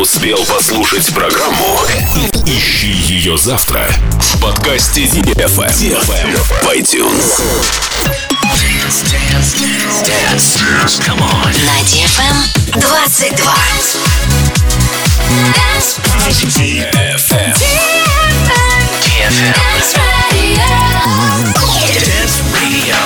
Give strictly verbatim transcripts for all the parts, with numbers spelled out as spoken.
успел послушать программу, ищи ее завтра в подкасте ди эф эм в iTunes. Dance, dance, dance, dance, come on. На ди эф эм двадцать два. Dance, ди эф эм. ди эф эм. Dance Radio. Dance Radio.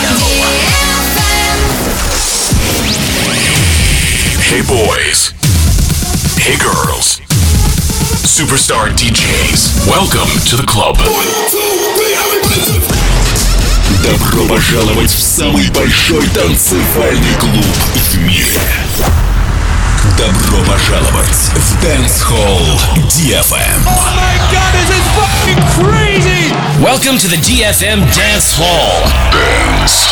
Hey boys. Hey girls. Superstar ди джейс. Welcome to the club. Добро пожаловать в самый большой танцевальный клуб в мире. Добро пожаловать в Dance Hall ди эф эм. Oh my God, this is fucking crazy! Welcome to the ди эф эм Dance Hall. Dance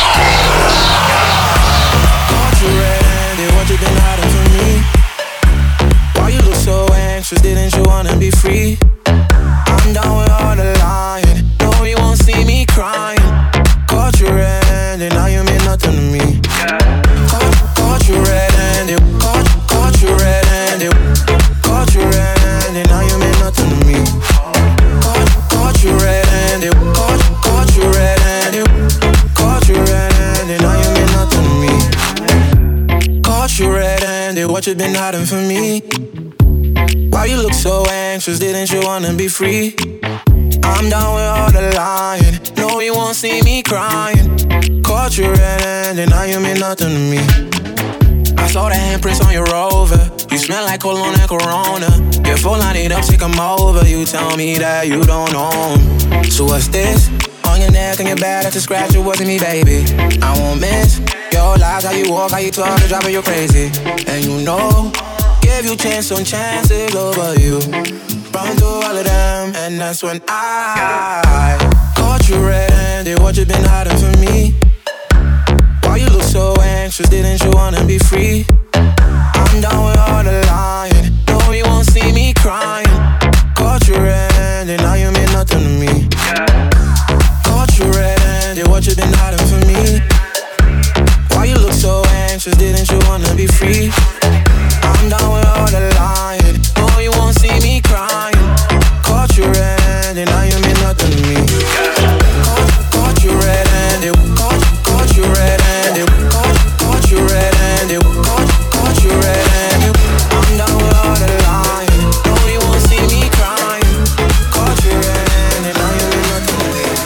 Caught you red-handed, what you been hiding from me? Why you look so anxious, didn't you wanna be free? I'm done with all the lying, no you won't see me crying. Caught you red-handed, now you mean nothing to me. Caught, caught you red-handed, caught, caught you red-handed, caught you red-handed, now you mean nothing to me. Caught, caught you red-handed, caught, caught you red-handed, caught you red-handed, now you mean nothing to me. Caught you red-handed, what you been hiding from me? Why you look so anxious, didn't you wanna be free? I'm done with all the lying, no you won't see me crying. Caught you red-handed, now you mean nothing to me. I saw the handprints on your Rover, you smell like cologne and Corona. You're full line it up, sick I'm over, you tell me that you don't know. So what's this? On your neck and your back, that's a scratch, it wasn't me baby. I won't miss your lies, how you walk, how you talk, you drop it, you're crazy. And you know, give you chance on chances over you. Run through all of them, and that's when I caught you red-handed, what you been hiding from me? Why you look so anxious, didn't you wanna be free? I'm done with all the lying, no you won't see me crying. Caught you red-handed, now you mean nothing to me. Caught you red-handed, what you been hiding from me? Why you look so anxious, didn't you wanna be free? I'm done with all the lying, no you won't see me crying. Caught you red-handed, now you mean nothing to me. Caught, caught you red-handed, caught, caught you red-handed, caught, caught you red-handed, caught, caught you red-handed. I'm done with all the lying, no you won't see me crying. Caught you red-handed, now you mean nothing to me.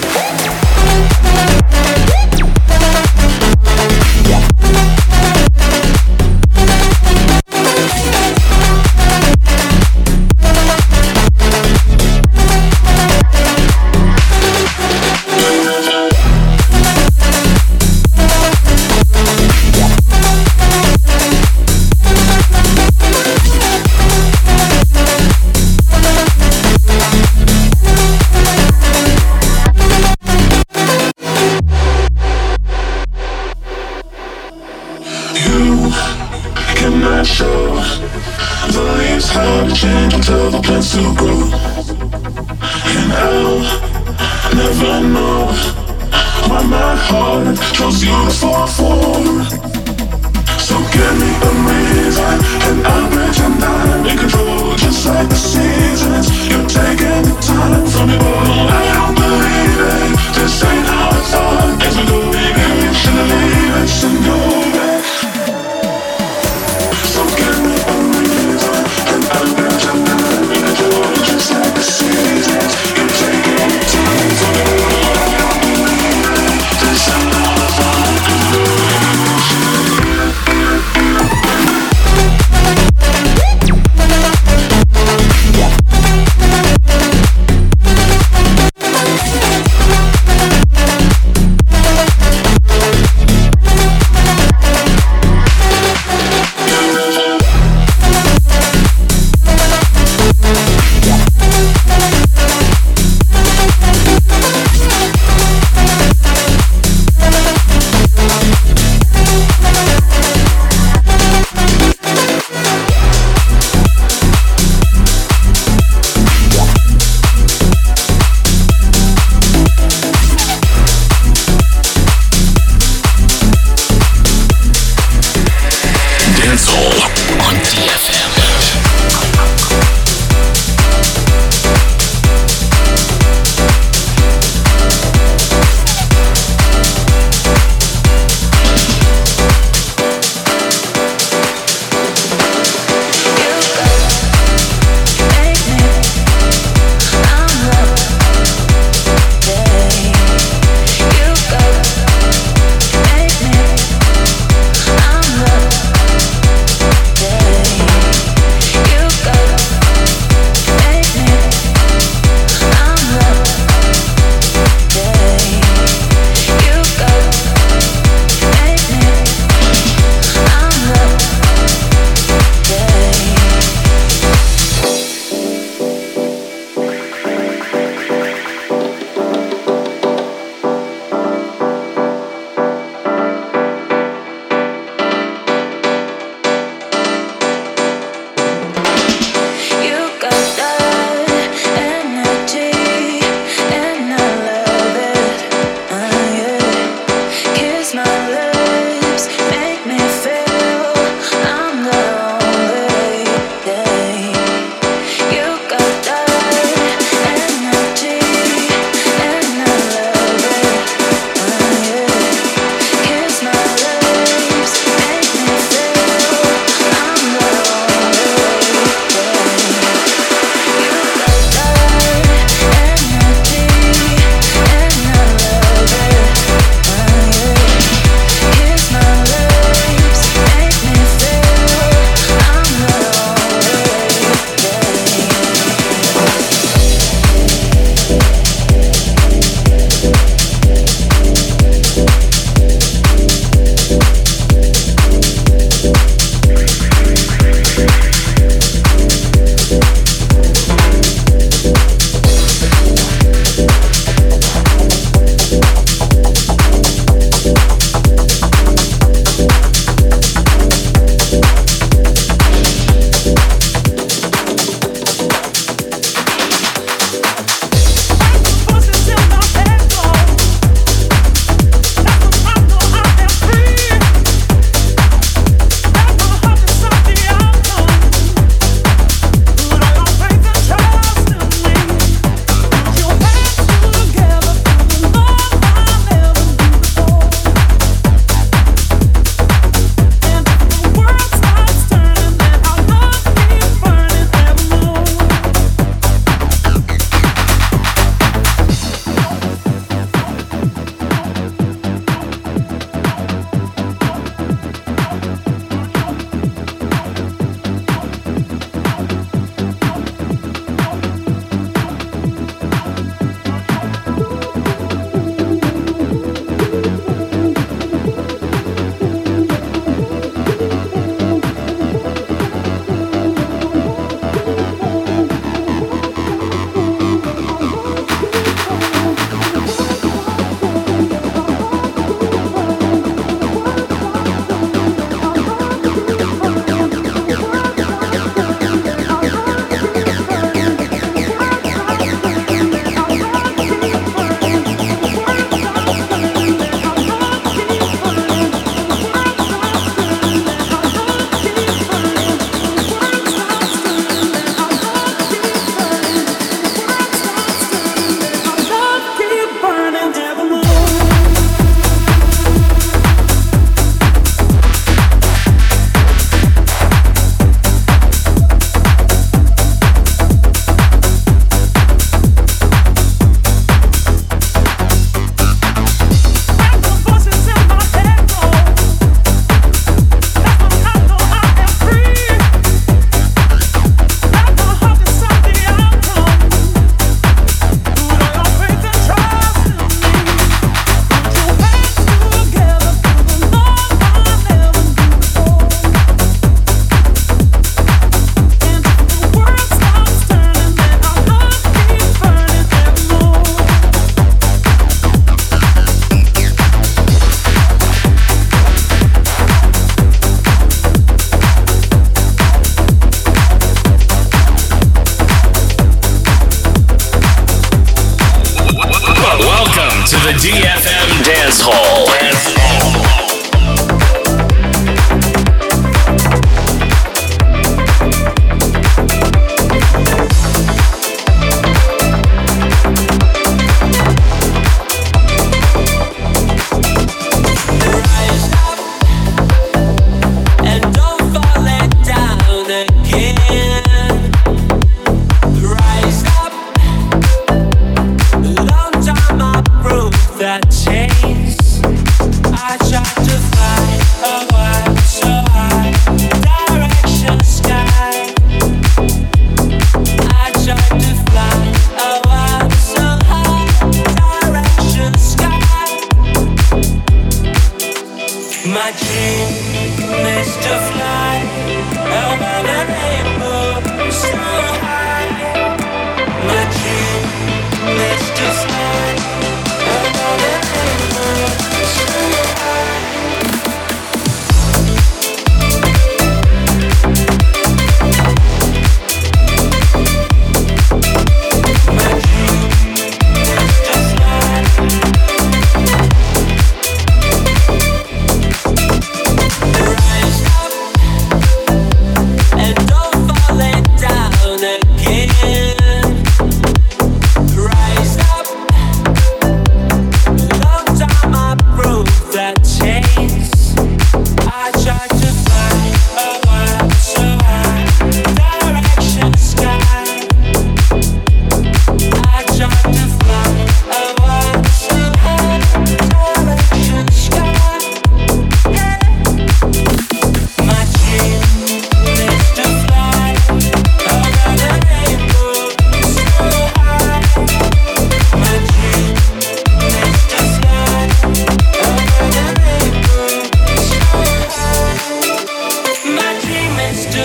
cannot show the leaves have to change until the plants to grow. And I'll never know why my heart chose you to fall for. So give me a reason and I'll pretend I'm in control. Just like the seasons, you're taking the time from me. Oh, I don't believe it, this ain't how I thought. As we go, baby, should I leave it, should go back. So give me a reason and I'll pretend I'm in control. Just like the seasons, you're taking the time from me. Oh, I don't believe it, this ain't how I thought. As we go, baby, should I leave it.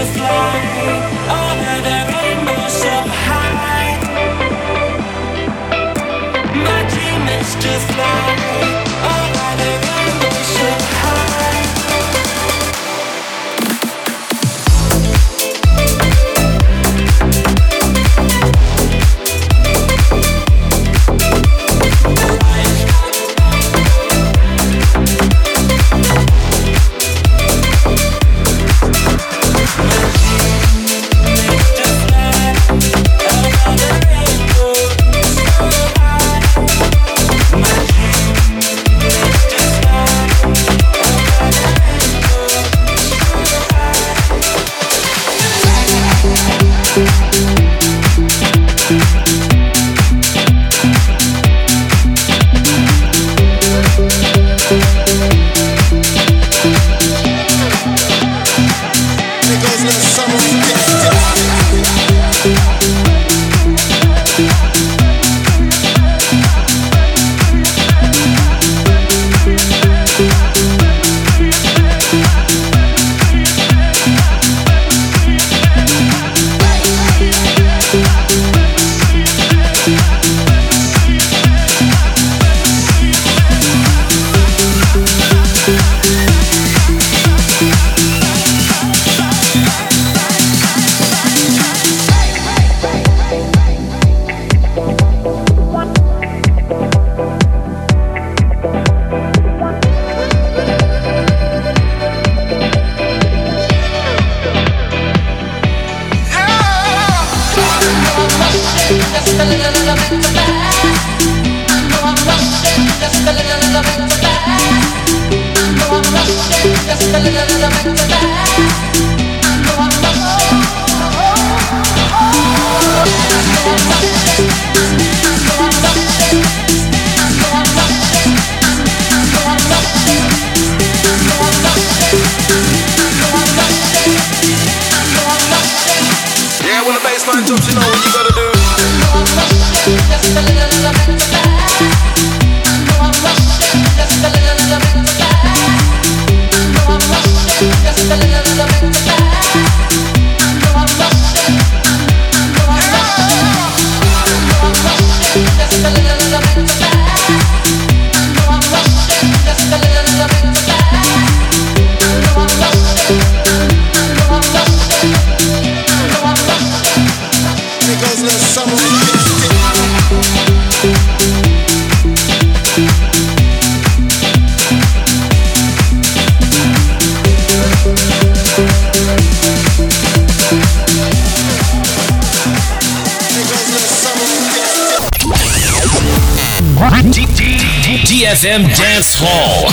ди эф эм Dance Hall.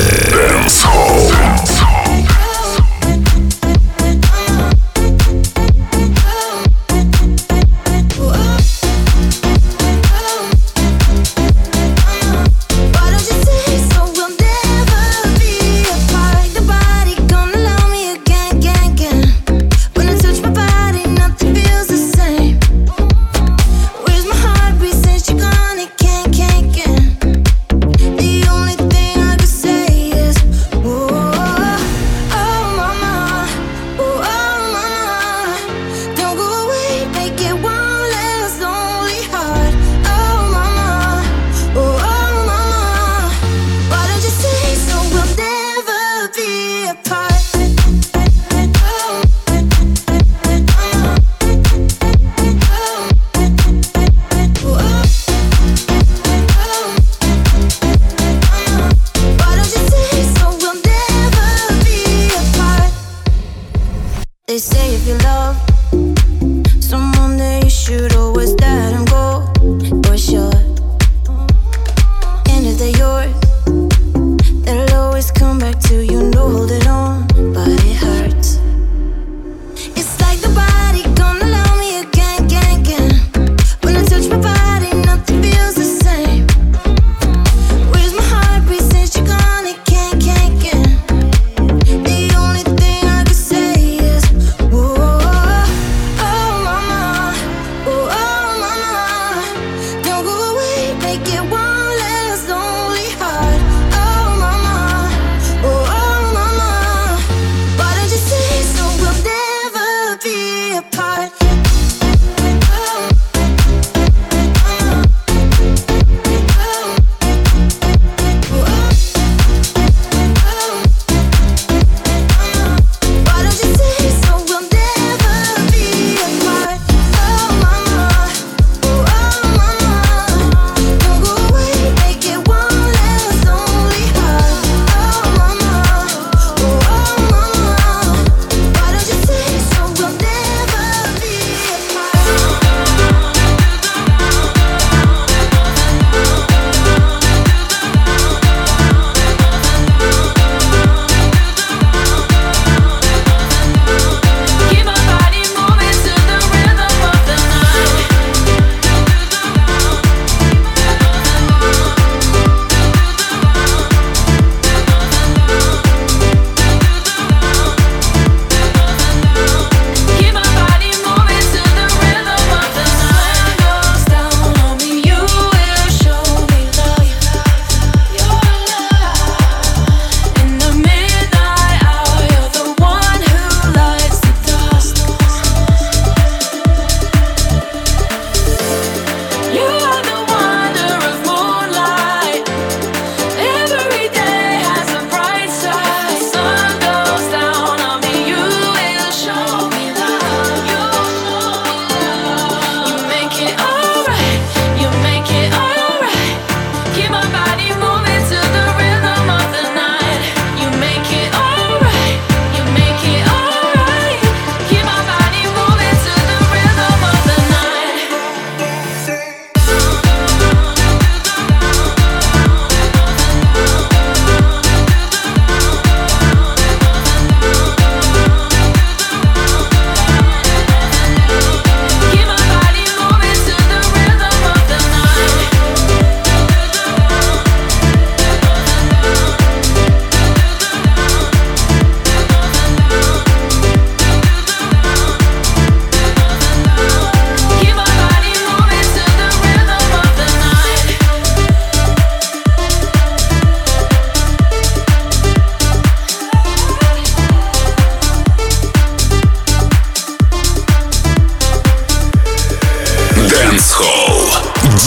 Dance Hall. Oh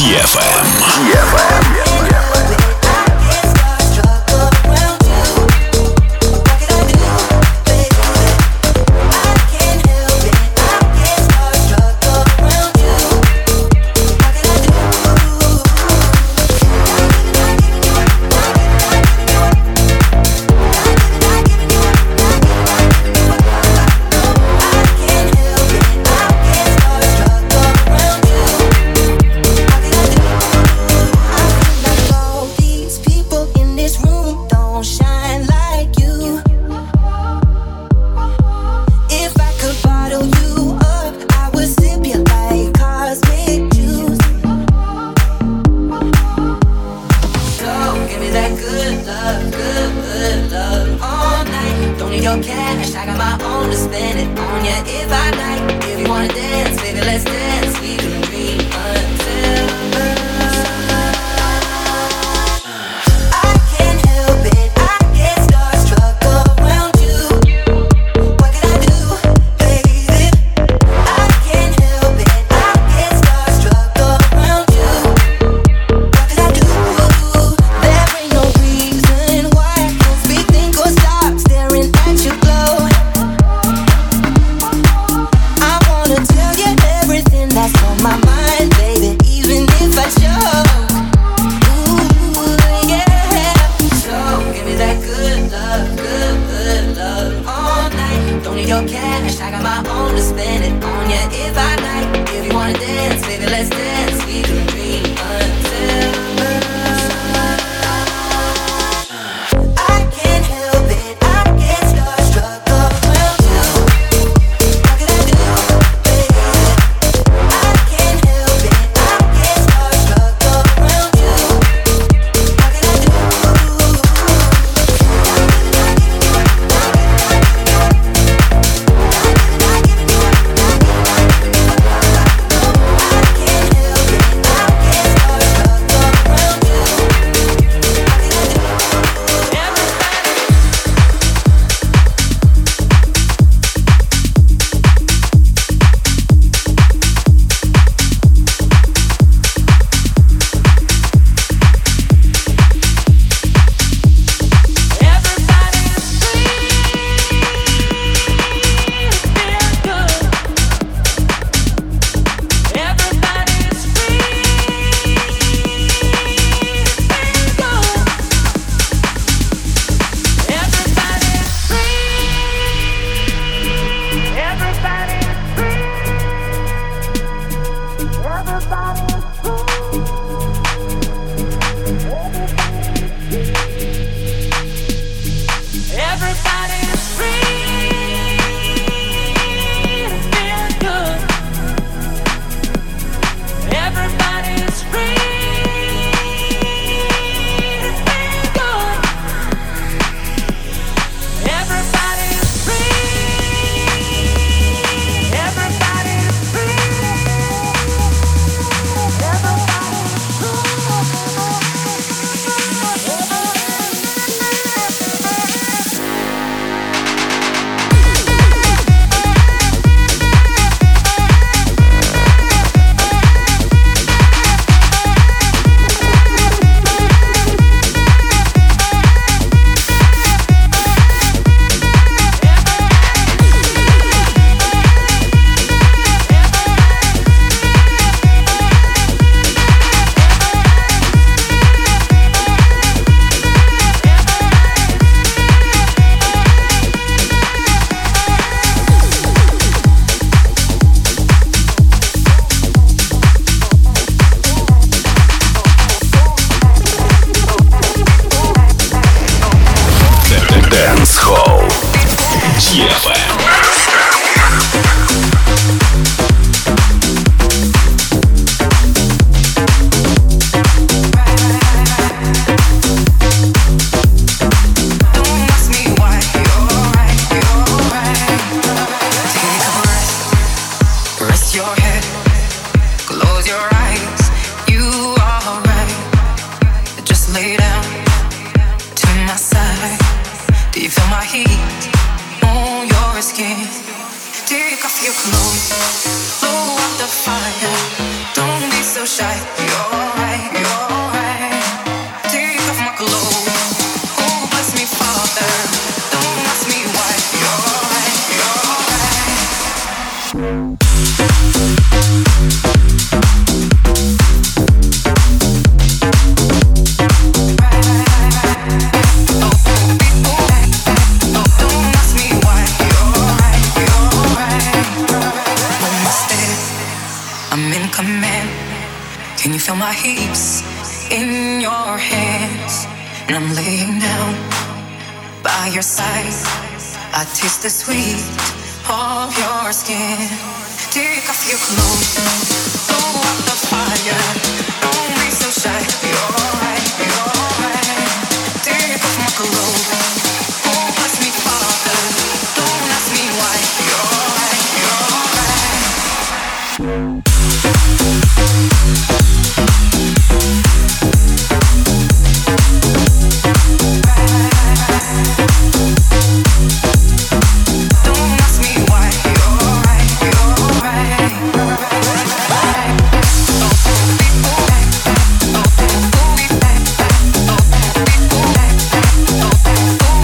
ди эф эм. ди эф эм. Take off your clothes, blow out the fire. Don't be so shy. You're Feel my hips in your hands, and I'm laying down by your side. I taste the sweet of your skin. Take off your clothes, blow up the fire. Don't be so shy. You're right, you're right. Take off my clothes. Oh, bless me, Father. Don't ask me why. You're right, you're right. Oh,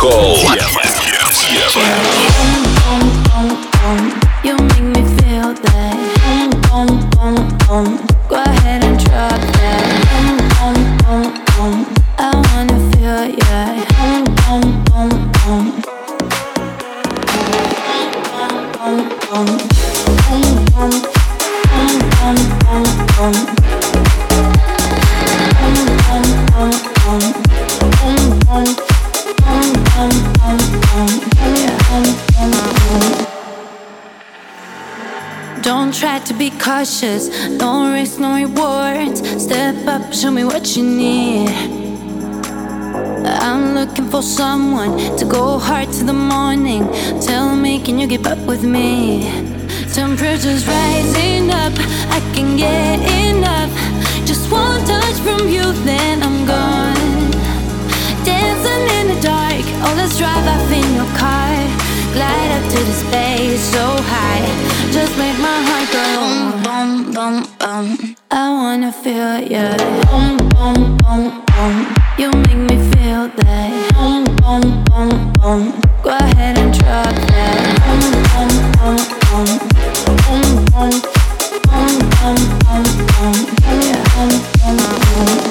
Hall. You make me feel that. Go ahead and drop that. I wanna feel ya. Don't try to be cautious, no risk, no rewards. Step up, show me what you need. I'm looking for someone to go hard to the morning. Tell me, can you keep up with me? Temperature's rising up, I can get enough. Just one touch from you, then I'm gone. Dancing in the dark, oh let's drive off in your car. Glide up to the space so high, just make my heart go boom, boom, boom, boom. I wanna feel ya. Boom, boom, boom, boom. You make me feel that. Boom, boom, boom, boom. Go ahead and drop that. Boom, boom, boom, boom. Boom, boom, boom, boom, boom, boom. Yeah, boom, boom, boom.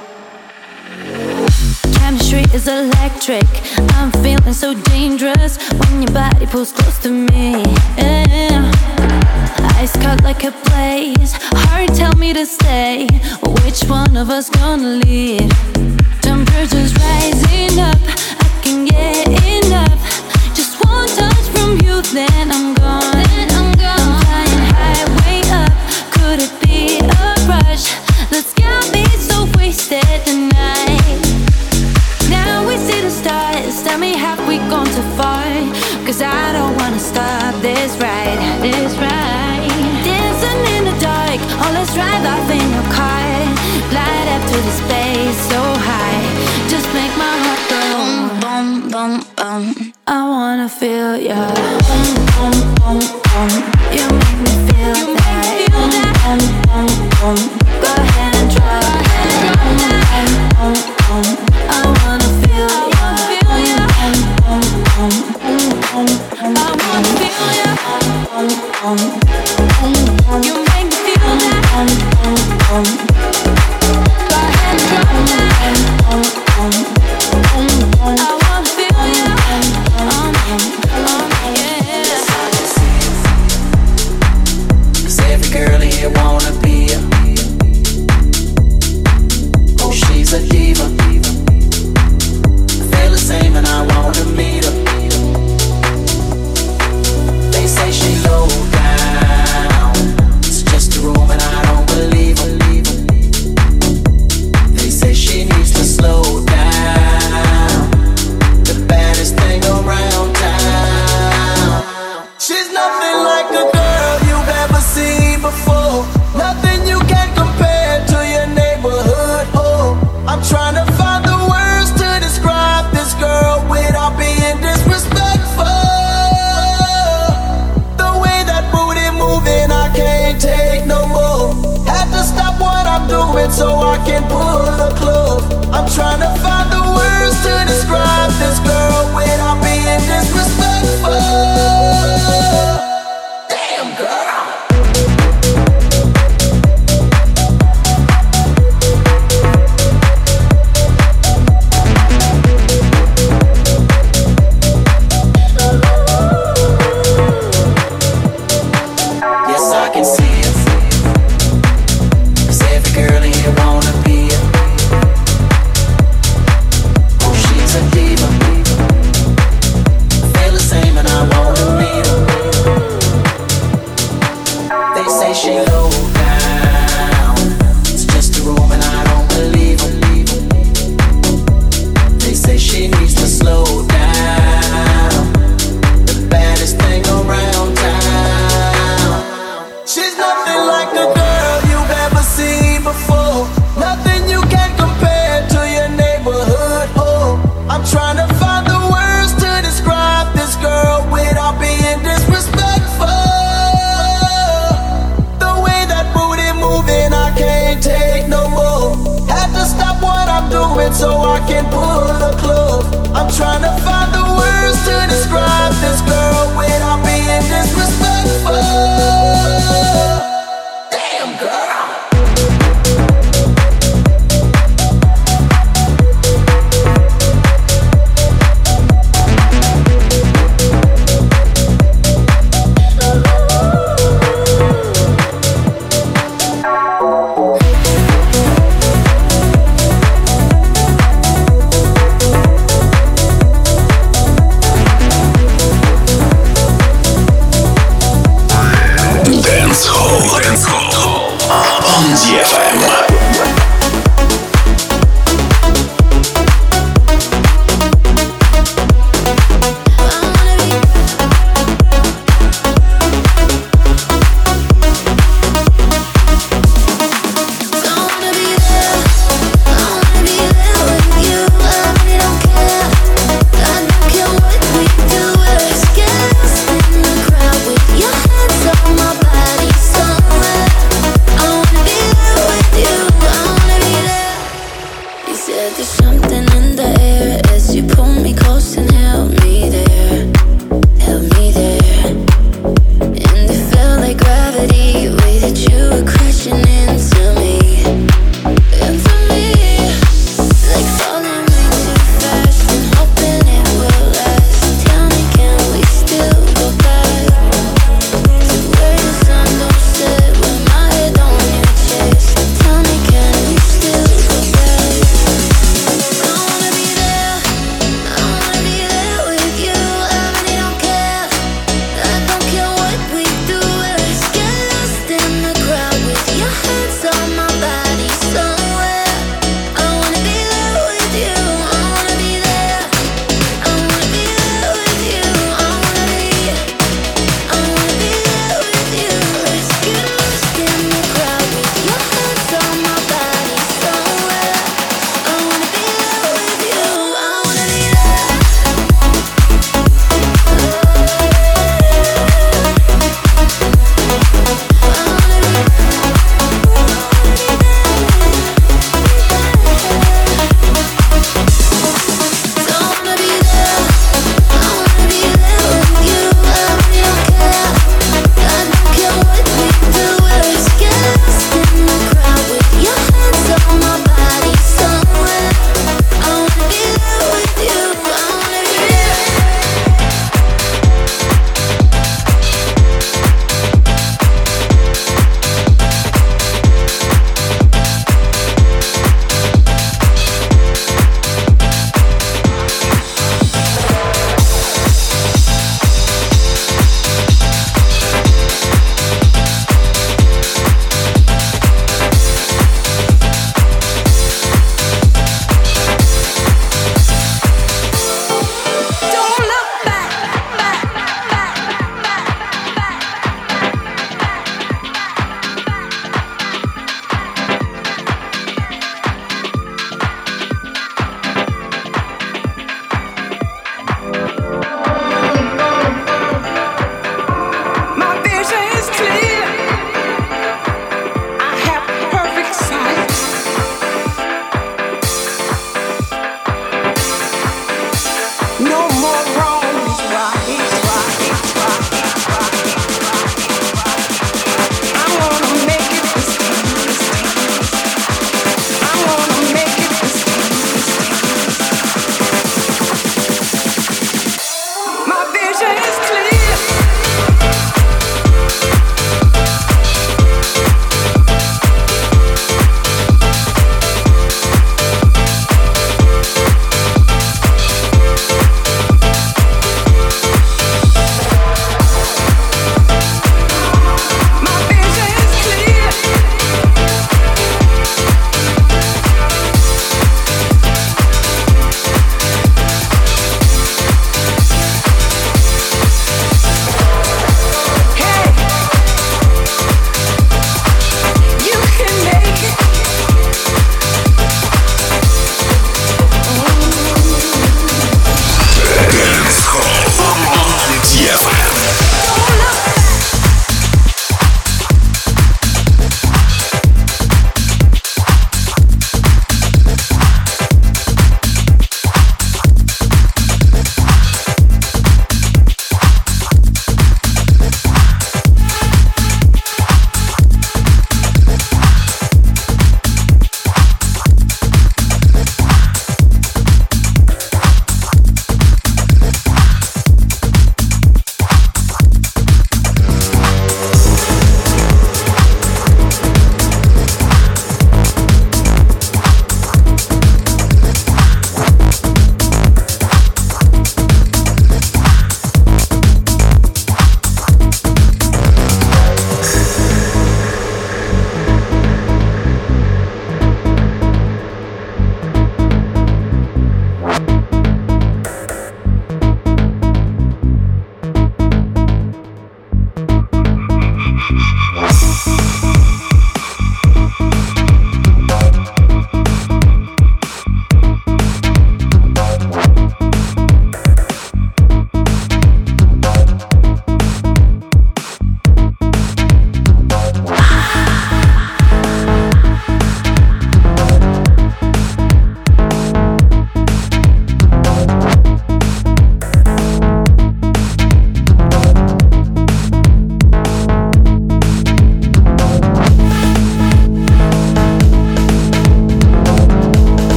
Chemistry is electric. I'm feeling so dangerous when your body pulls close to me. Yeah. Eyes cut like a blaze. Heart tell me to stay. Which one of us gonna lead? Temperature's rising up, I can get enough. Just one touch from you, then I'm gone. Then I'm gone. I'm flying high, way up. Could it be a rush? Let's get me so wasted tonight. Now we see the stars. Tell me, have we gone too far? Cause I don't wanna stop this ride, this ride. Dancing in the dark, oh let's drive off in your car. Glide up to the space so high, just make my heart go boom, boom, boom, boom. I wanna feel ya. Boom, boom, boom, boom. You make me feel you that. Make me feel that. Boom, boom, boom, boom. Go ahead and drop that. Boom, boom, boom, boom. I wanna feel ya. Boom, boom, boom, boom. I wanna feel ya. Boom, boom, boom, boom. You make me feel that. Boom, boom, boom. Go ahead and drop that. Boom, boom, boom, boom. I wanna feel ya. Um, um, yeah. Cause every girl here wanna be a. Oh, she's a diva. I feel the same and I wanna meet her. They say she low down. It's just a room and I don't believe her. They say she needs to slow down. The baddest thing around town. She's nothing like a girl you've ever seen before. Nothing you can compare to your neighborhood home. I'm trying to find the words to describe this girl without being disrespectful. The way that booty moving, I can't take no more. Had to stop what I'm doing so I can pull the glove. I'm trying to find the words to describe this girl without being disrespectful. Damn girl. Yes, I can see it. Cause every girl here wanna be a. Oh, she's a diva. I feel the same and I wanna meet her. They say she low down. It's just a room and I don't believe her. They say she needs to slow down. The baddest thing around town. She's nothing like a girl you've ever seen before. Nothing you can compare to your neighborhood home. I'm trying to find the words to describe this girl without being disrespectful. The way that booty moving, I can't take no more. Had to stop what I'm doing so I can pull the glove. I'm trying to find I wanna be there with you.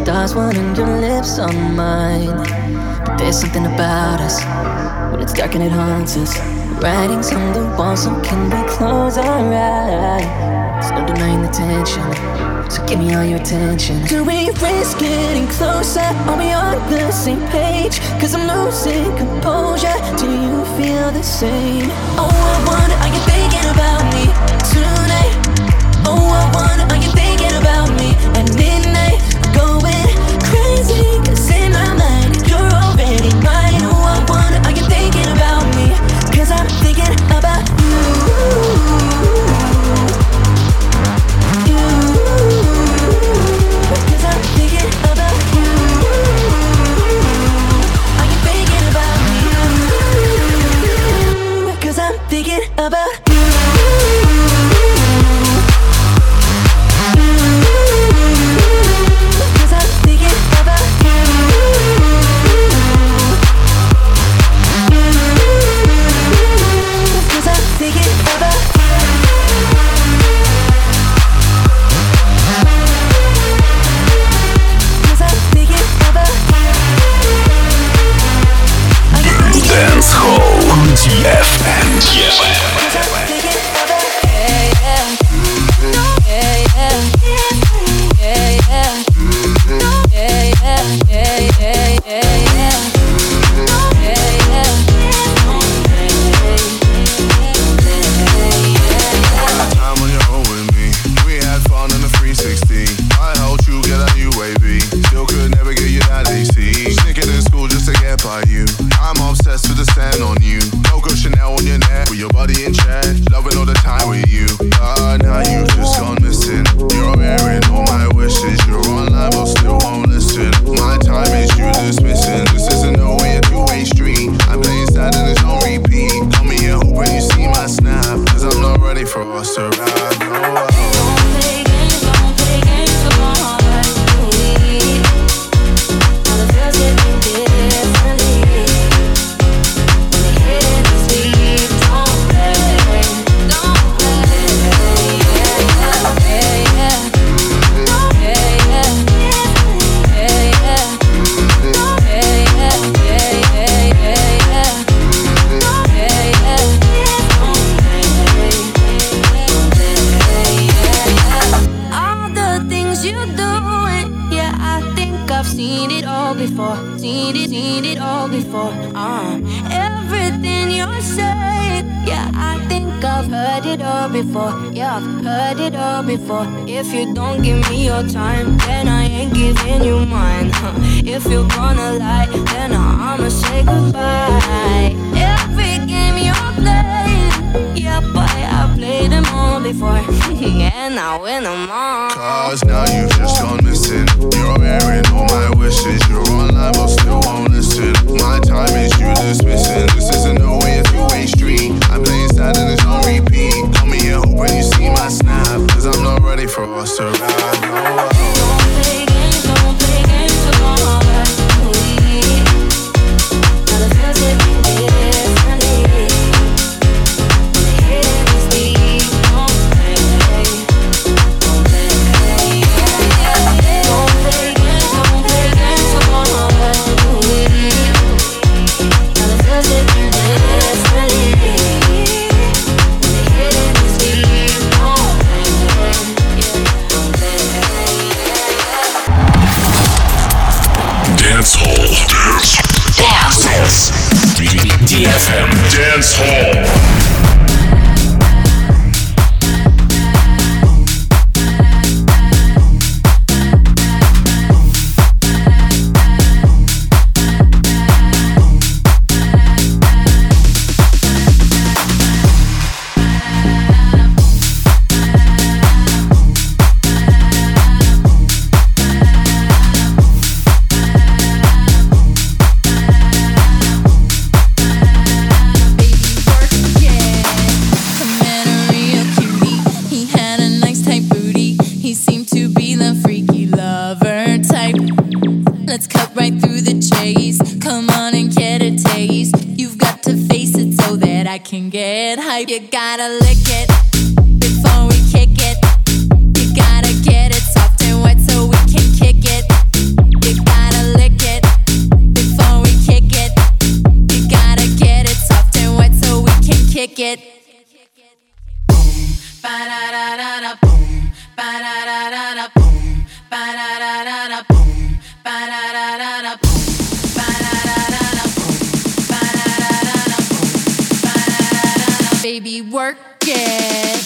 stars one on your lips on mine. But there's something about us, when it's dark and it haunts us. Writings on the wall, so can we close our eyes? There's no denying the tension, so give me all your attention. Do we risk getting closer? Are we on the same page? Cause I'm losing composure. Do you feel the same? Oh, I wonder, are you thinking about me tonight? Oh, I wonder, are you thinking about me at midnight? Going crazy, cause in my mind you're already mine. Oh, I wonder, are you thinking about me? Cause I'm thinking about you. You. Cause I'm thinking about you. Are you thinking about me? Cause I'm thinking about you. Dance Hall ди эф эм. If you don't give me your time, then I ain't giving you mine. Huh. If you're gonna lie, then I'ma say goodbye. Every game you're playing, yeah, boy, I played them all before. And I win them all. Cause now you've just gone missing. You're airing all my wishes. You're online but still won't listen. My time is you dismissing. This isn't no way, a two-way street. I'm playing sad and it's on repeat. Come here hoping you see my snap. Cause I'm not ready for us to ride. No. Don't play games, don't play games, so don't hold back. Now the feels hit me differently. When the hidden is deep, don't play, don't play. Don't play games, don't play games, so don't hold back. Now the feels hit me differently. When the hidden is deep, don't play, don't play. Dance Hall. Dance. Dance. ди эф эм. Dance Hall. Can get hype. You gotta lick it before we kick it. You gotta get it soft and wet so we can kick it. ba-da-da-da-da, boom, ba-da-da-da-da, boom, ba-da-da-da-da, boom, ba-da-da-da-da, boom, ba-da-da-da-da, boom, ba-da-da-da-da, boom, ba-da-da-da-da, baby, work it.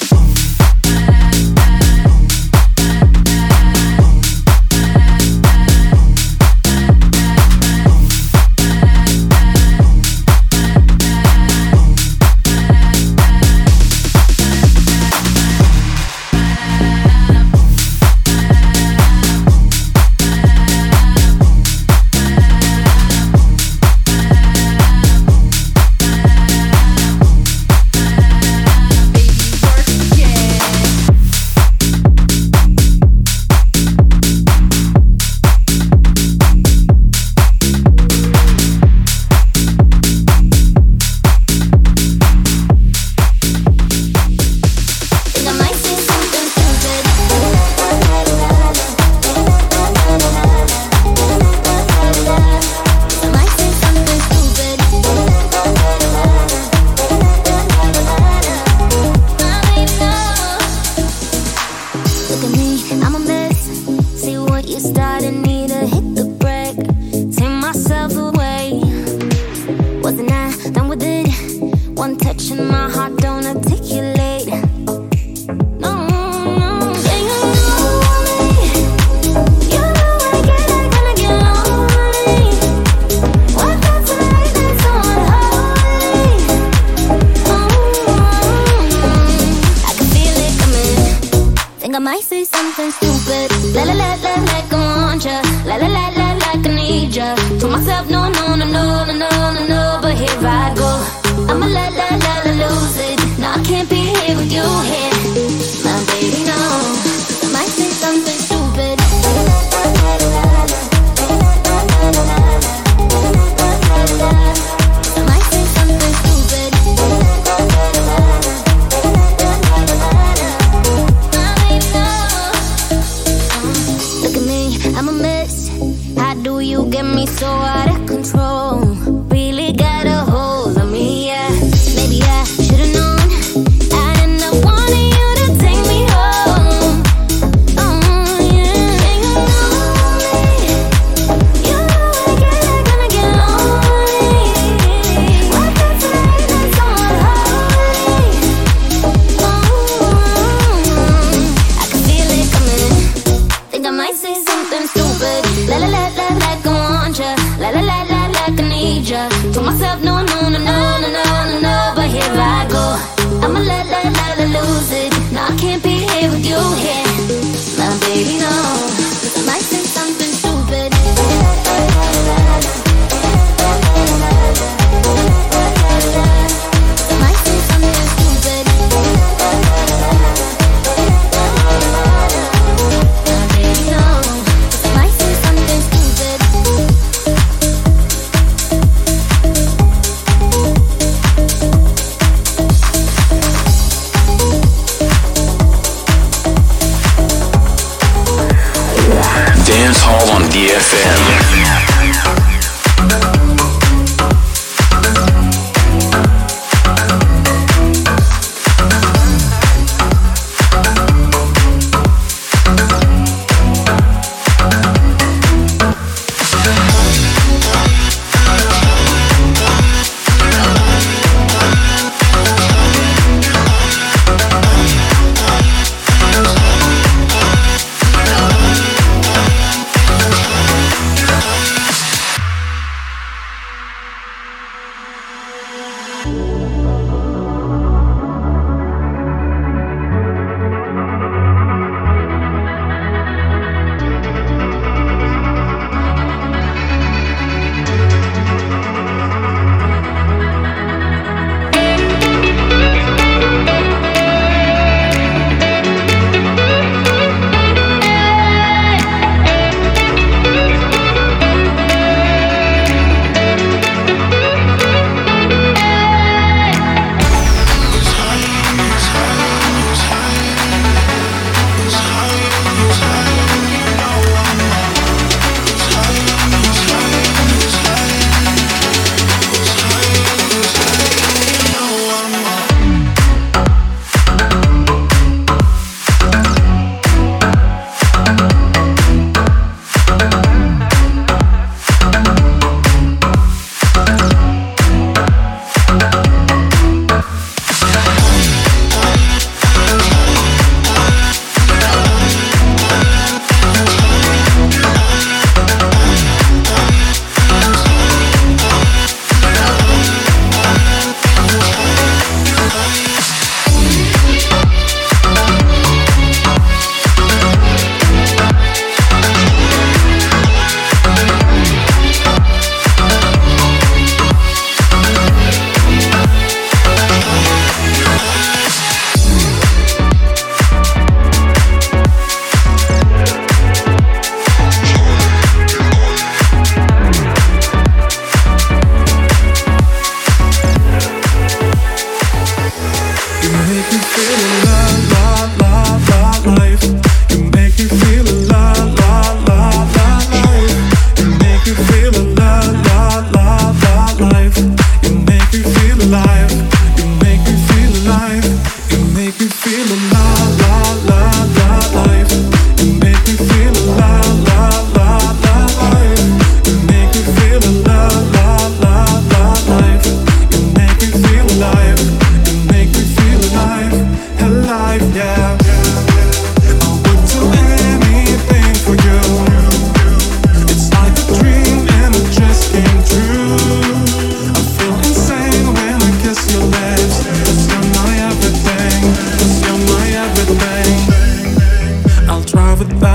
Something stupid, la la la la, like I want ya, la la la la, like I need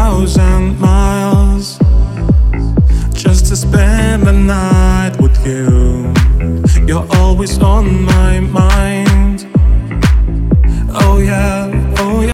thousand miles just to spend the night with you. You're always on my mind. Oh yeah, oh yeah.